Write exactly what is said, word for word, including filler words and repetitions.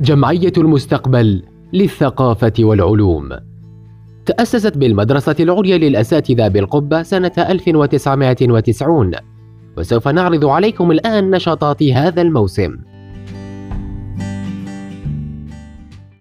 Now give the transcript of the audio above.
جمعية المستقبل للثقافة والعلوم. تأسست بالمدرسة العليا للأساتذة بالقبة سنة ألف وتسعمائة وتسعين، وسوف نعرض عليكم الآن نشاطات هذا الموسم.